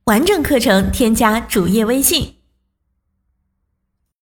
完整课程添加主页微信